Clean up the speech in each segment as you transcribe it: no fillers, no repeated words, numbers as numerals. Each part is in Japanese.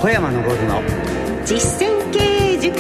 小山昇の実践経営塾。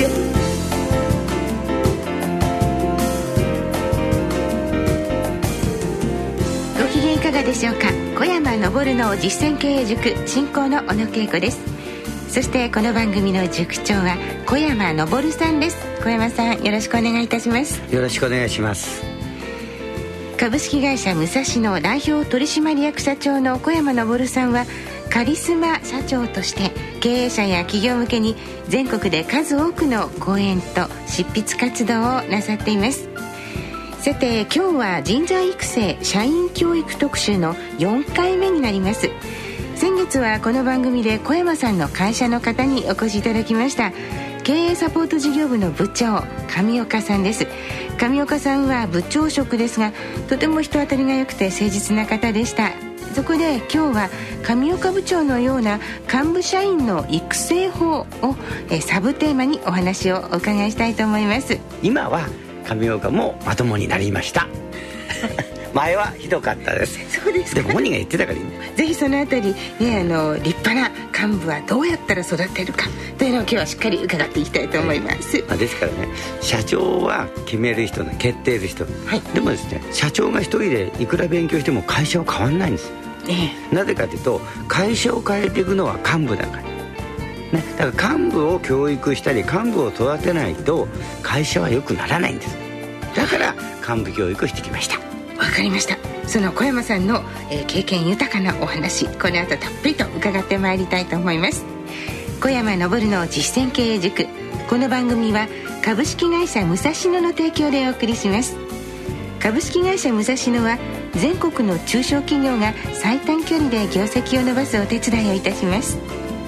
ご機嫌いかがでしょうか。小山昇の実践経営塾進行の小野恵子です。そしてこの番組の塾長は小山昇さんです。小山さん、よろしくお願いいたします。 よろしくお願いします。 株式会社武蔵野代表取締役社長の小山昇さんはカリスマ社長として経営者や企業向けに全国で数多くの講演と執筆活動をなさっています。さて、今日は人材育成社員教育特集の4回目になります。先月はこの番組で小山さんの会社の方にお越しいただきました。経営サポート事業部の部長上岡さんです。上岡さんは部長職ですが、とても人当たりが良くて誠実な方でした。そこで今日は上岡部長のような幹部社員の育成法をサブテーマにお話をお伺いしたいと思います。 今は上岡もまともになりました前はひどかったです。 そうですか。 でも本人が言ってたからいい。 ぜひそのあたり、立派な幹部はどうやったら育てるかというのを今日はしっかり伺っていきたいと思います。 ですからね、社長は決める人、決定する人、でもですね、社長が一人でいくら勉強しても会社は変わんないんです。なぜかというと、会社を変えていくのは幹部だから、だから幹部を教育したり幹部を育てないと会社は良くならないんです。だから幹部教育をしてきました。 わかりました。その小山さんの、経験豊かなお話、この後たっぷりと伺ってまいりたいと思います。小山昇の実践経営塾、この番組は株式会社武蔵野の提供でお送りします。株式会社武蔵野は全国の中小企業が最短距離で業績を伸ばすお手伝いをいたします。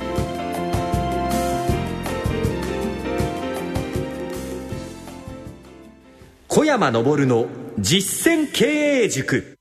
小山昇の実践経営塾。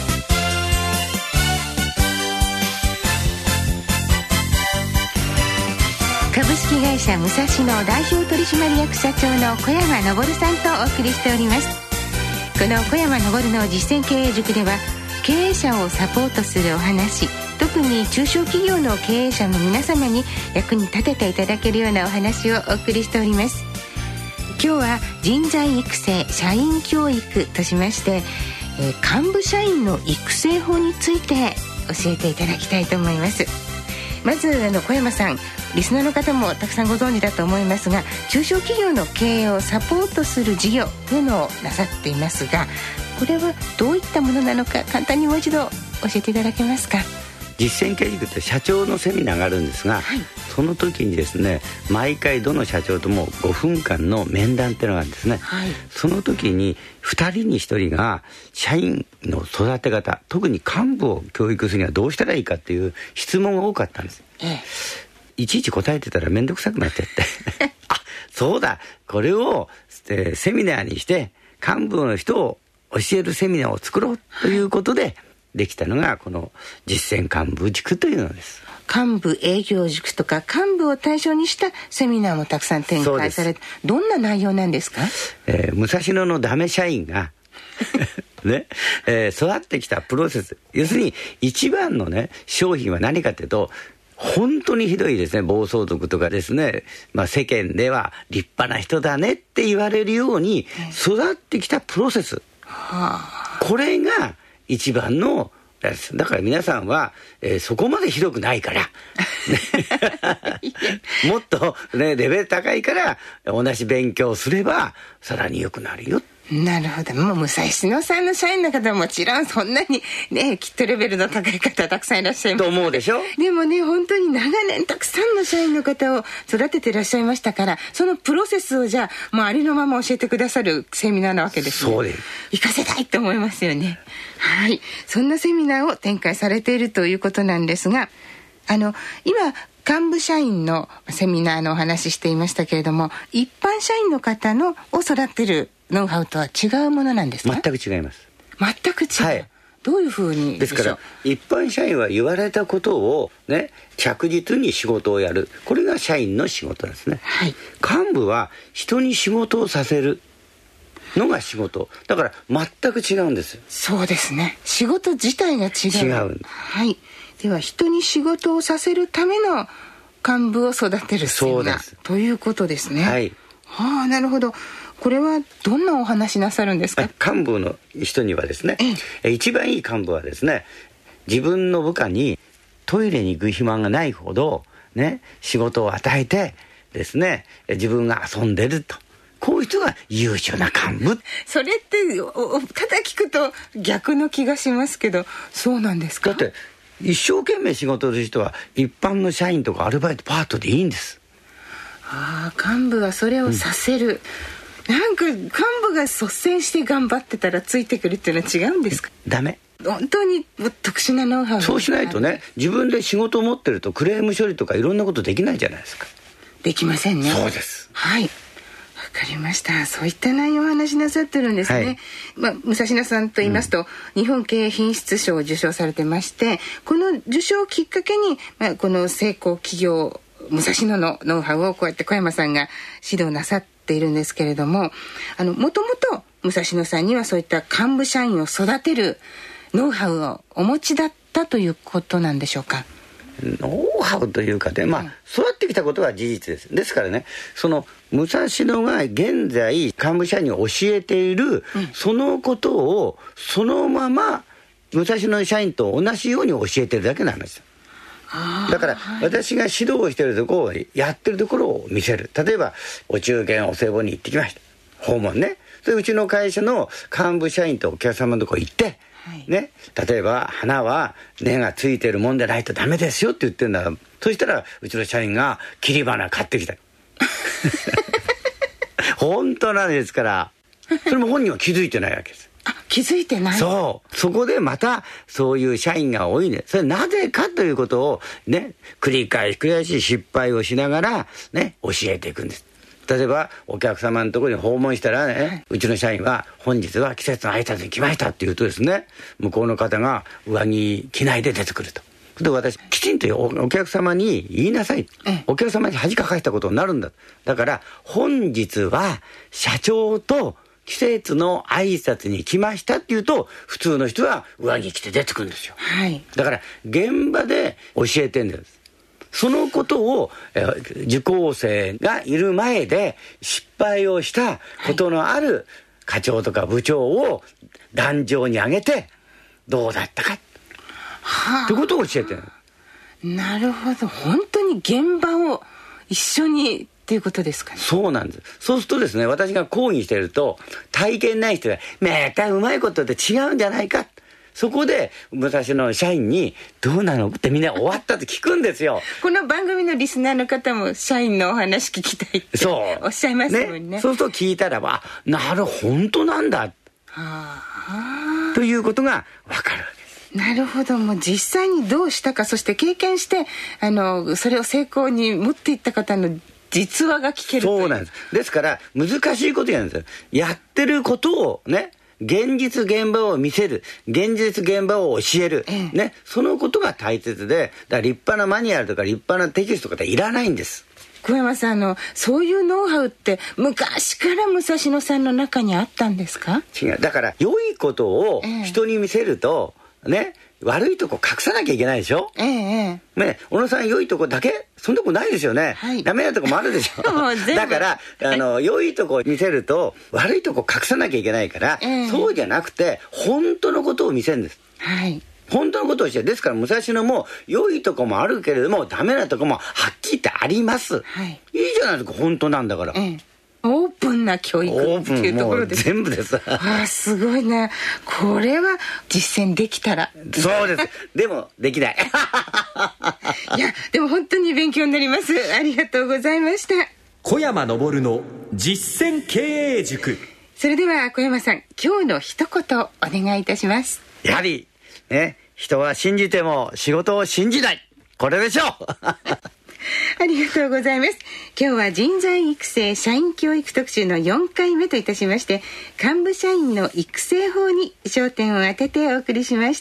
株式会社武蔵野代表取締役社長の小山昇さんとお送りしております。この小山昇の実践経営塾では経営者をサポートするお話、特に中小企業の経営者の皆様に役に立てていただけるようなお話をお送りしております。今日は人材育成社員教育としまして、幹部社員の育成法について教えていただきたいと思います。まず小山さん、リスナーの方もたくさんご存知だと思いますが、中小企業の経営をサポートする事業というのをなさっていますが、これはどういったものなのか簡単にもう一度教えていただけますか。 実践経営塾って社長のセミナーがあるんですが、その時にですね、毎回どの社長とも5分間の面談っていうのがあるんですね。その時に2人に1人が社員の育て方、特に幹部を教育するにはどうしたらいいかっていう質問が多かったんです。いちいち答えてたら面倒くさくなっちゃってあ、そうだ、これを、セミナーにして幹部の人を教えるセミナーを作ろうということで、できたのがこの実践幹部塾というのです。 幹部営業塾とか幹部を対象にしたセミナーもたくさん展開されて、どんな内容なんですか。 武蔵野のダメ社員が育ってきたプロセス、要するに一番のね、商品は何かというと、本当にひどいですね、暴走族とかですね、世間では立派な人だねって言われるように育ってきたプロセス、これが一番のやつだから、皆さんは、そこまでひどくないからもっと、レベル高いから同じ勉強すればさらに良くなるよ。 なるほど。もう武蔵野さんの社員の方はもちろんそんなにね、きっとレベルの高い方たくさんいらっしゃいますと思うでしょ。 でもね、本当に長年たくさんの社員の方を育てていらっしゃいましたから、そのプロセスをじゃあもうありのまま教えてくださるセミナーなわけですね。 そうです。 活かせたいと思いますよね。そんなセミナーを展開されているということなんですが、今幹部社員のセミナーのお話していましたけれども、一般社員の方のを育てるノウハウとは違うものなんですか。 全く違います。 全く違う、どういうふうにですから、一般社員は言われたことをね、着実に仕事をやる、これが社員の仕事ですね。幹部は人に仕事をさせるのが仕事だから、全く違うんです。 そうですね、仕事自体が違う。 違う。 では人に仕事をさせるための幹部を育てるセミナーということですね。 はい。 はあ、なるほど。これはどんなお話なさるんですか？ 幹部の人にはですね、一番いい幹部はですね、自分の部下にトイレに行く暇がないほどね、仕事を与えてですね、自分が遊んでると、こういう人が優秀な幹部。 それってただ聞くと逆の気がしますけど、そうなんですか？ だって一生懸命仕事をする人は一般の社員とかアルバイトパートでいいんです。 ああ、幹部はそれをさせる、なんか幹部が率先して頑張ってたらついてくるっていうのは違うんですか？ ダメ。 本当に特殊なノウハウ。 そうしないとね、自分で仕事を持ってるとクレーム処理とかいろんなことできないじゃないですか。 できませんね。 そうです。 はい、わかりました。そういった内容をお話しなさってるんですね。はい、武蔵野さんと言いますと、日本経営品質賞を受賞されてまして、この受賞をきっかけに、この成功企業武蔵野のノウハウをこうやって小山さんが指導なさっているんですけれども、もともと武蔵野さんにはそういった幹部社員を育てるノウハウをお持ちだったということなんでしょうか？ ノウハウというかね、育ってきたことは事実です。ですからね、その武蔵野が現在幹部社員に教えている、そのことをそのまま武蔵野社員と同じように教えてるだけなんですよ。だから、私が指導をしているところをやってるところを見せる。例えばお中元お歳暮に行ってきました、訪問ね。それうちの会社の幹部社員とお客様のところ行って、ね、例えば花は根がついてるもんでないとダメですよって言ってるんだ。そしたらうちの社員が切り花買ってきた本当なんですから。それも本人は気づいてないわけです。 気づいてない。 そこでまたそういう社員が多いね。それなぜかということをね、繰り返し失敗をしながらね、教えていくんです。例えばお客様のところに訪問したらね、うちの社員は本日は季節の挨拶に来ましたって言うとですね、向こうの方が上着着ないで出てくると。で、私きちんとお客様に言いなさい、お客様に恥かかしたことになるんだ。だから本日は社長と季節の挨拶に来ましたって言うと、普通の人は上着着て出てくるんですよ。だから現場で教えてるんです。そのことを受講生がいる前で失敗をしたことのある課長とか部長を壇上に上げてどうだったかってことを教えてる。 なるほど。本当に現場を一緒にっていうことですかね。 そうなんです。そうするとですね、私が講義してると体験ない人がまたうまいことで違うんじゃないか、そこで武蔵野社員にどうなのってみんな終わったって聞くんですよ。 この番組のリスナーの方も社員のお話聞きたいっておっしゃいますもんね。 そうすると聞いたらば、なる本当なんだということが分かるわけです。 なるほど。もう実際にどうしたか、そして経験してそれを成功に持っていった方の実話が聞ける。 そうなんです。ですから難しいことやるんですよ。やってることをね、現実現場を見せる、現実現場を教える、ね、そのことが大切で、だから立派なマニュアルとか立派なテキストとかっていらないんです。 小山さん、そういうノウハウって昔から武蔵野さんの中にあったんですか？ 違う。だから良いことを人に見せると、ね、悪いとこ隠さなきゃいけないでしょ。ね、小野さん良いとこだけそんなとこないですよね。ダメなとこもあるでしょだから良いとこ見せると悪いとこ隠さなきゃいけないから、そうじゃなくて本当のことを見せるんです。本当のことをして、ですから武蔵野も良いとこもあるけれどもダメなとこもはっきり言ってあります。いいじゃないですか、本当なんだから。 オープンな教育っていうところです。 全部ですすごいね。これは実践できたら。 そうです。でもできないいや、でも本当に勉強になります。ありがとうございました。 小山昇の実践経営塾。 それでは小山さん、今日の一言お願いいたします。 やはりね、人は信じても仕事を信じない、これでしょうありがとうございます。今日は人材育成社員教育特集の4回目といたしまして、幹部社員の育成法に焦点を当ててお送りしました。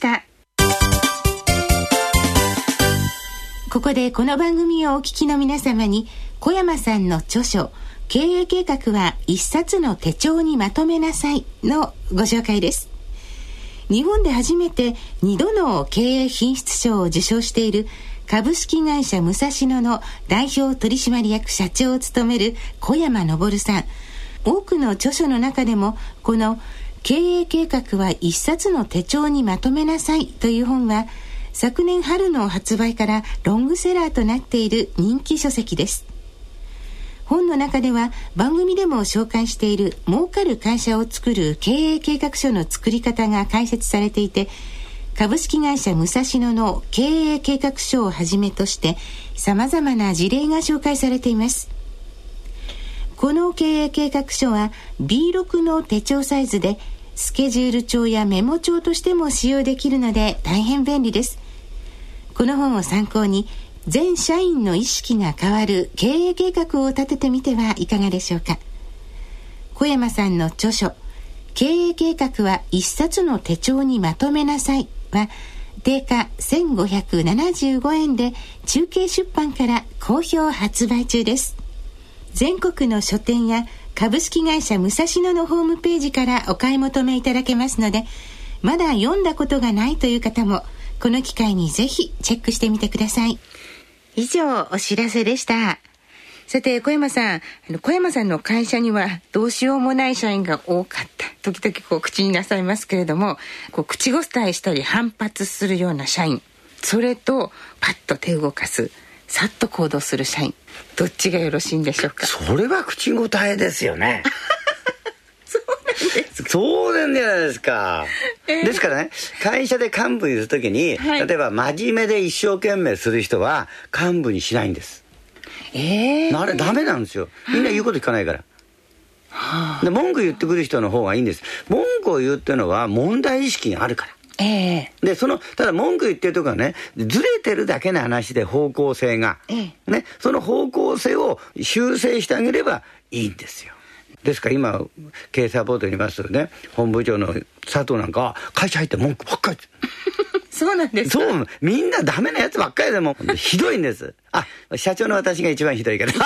ここでこの番組をお聞きの皆様に、小山さんの著書経営計画は一冊の手帳にまとめなさいのご紹介です。 日本で初めて2度の経営品質賞を受賞している株式会社武蔵野の代表取締役社長を務める小山昇さん。多くの著書の中でもこの経営計画は一冊の手帳にまとめなさいという本は昨年春の発売からロングセラーとなっている人気書籍です。本の中では番組でも紹介している儲かる会社を作る経営計画書の作り方が解説されていて、株式会社武蔵野の経営計画書をはじめとして様々な事例が紹介されています。この経営計画書は B6 の手帳サイズでスケジュール帳やメモ帳としても使用できるので大変便利です。この本を参考に全社員の意識が変わる経営計画を立ててみてはいかがでしょうか。小山さんの著書経営計画は一冊の手帳にまとめなさいは定価1575円で中継出版から好評発売中です。全国の書店や株式会社武蔵野のホームページからお買い求めいただけますので、まだ読んだことがないという方もこの機会にぜひチェックしてみてください。以上お知らせでした。さて小山さんの会社にはどうしようもない社員が多かった。時々口になさいますけれども、口答えしたり反発するような社員、それとパッと手を動かす、さっと行動する社員、どっちがよろしいんでしょうか。 それは口答えですよね。そうなんじゃないですか。ですからね、会社で幹部にするときに、例えば真面目で一生懸命する人は幹部にしないんです。あれダメなんですよ。みんな言うこと聞かないから。で文句言ってくる人の方がいいんです。文句を言うっていうのは問題意識があるから。でただ文句言ってるとかね、ずれてるだけの話で方向性が、ね、その方向性を修正してあげればいいんですよ。ですから今経営サポートにいますよね、本部長の佐藤なんかは会社入って文句ばっかりそうなんですか。 そうみんなダメなやつばっかりでもひどいんです。社長の私が一番ひどいけど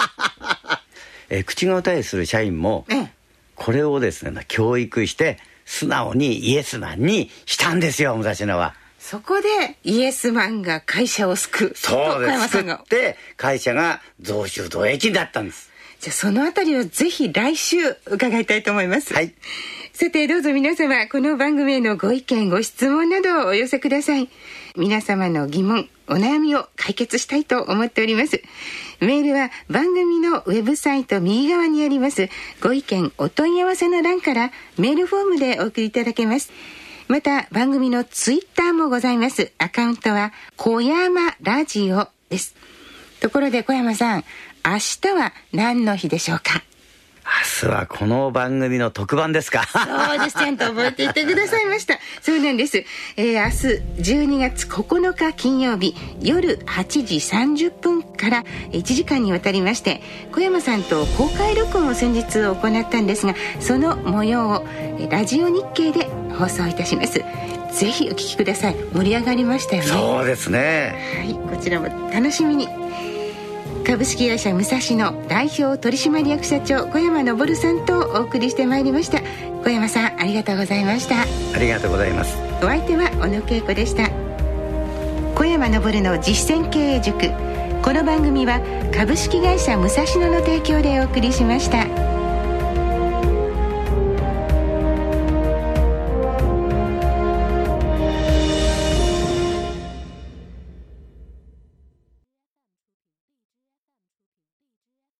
口答えする社員もこれをですね教育して素直にイエスマンにしたんですよ、武蔵野は。 そこでイエスマンが会社を救う。 そうです。救って会社が増収増益になったんです。 じゃあそのあたりをぜひ来週伺いたいと思います。さてどうぞ皆様この番組へのご意見ご質問などをお寄せください。皆様の疑問お悩みを解決したいと思っております。メールは番組のウェブサイト右側にありますご意見お問い合わせの欄からメールフォームでお送りいただけます。また番組のツイッターもございます。アカウントは小山ラジオです。ところで小山さん、明日は何の日でしょうか。 明日はこの番組の特番ですか。 そうです、ちゃんと覚えていてくださいました。そうなんです。明日12月9日金曜日夜8時30分から1時間にわたりまして小山さんと公開録音を先日行ったんですが、その模様をラジオ日経で放送いたします。ぜひお聞きください。盛り上がりましたよね。 そうですね。 こちらも楽しみに。株式会社武蔵野代表取締役社長小山昇さんとお送りしてまいりました。小山さんありがとうございました。 ありがとうございます。 お相手は小野恵子でした。小山昇の実践経営塾、この番組は株式会社武蔵野の提供でお送りしました。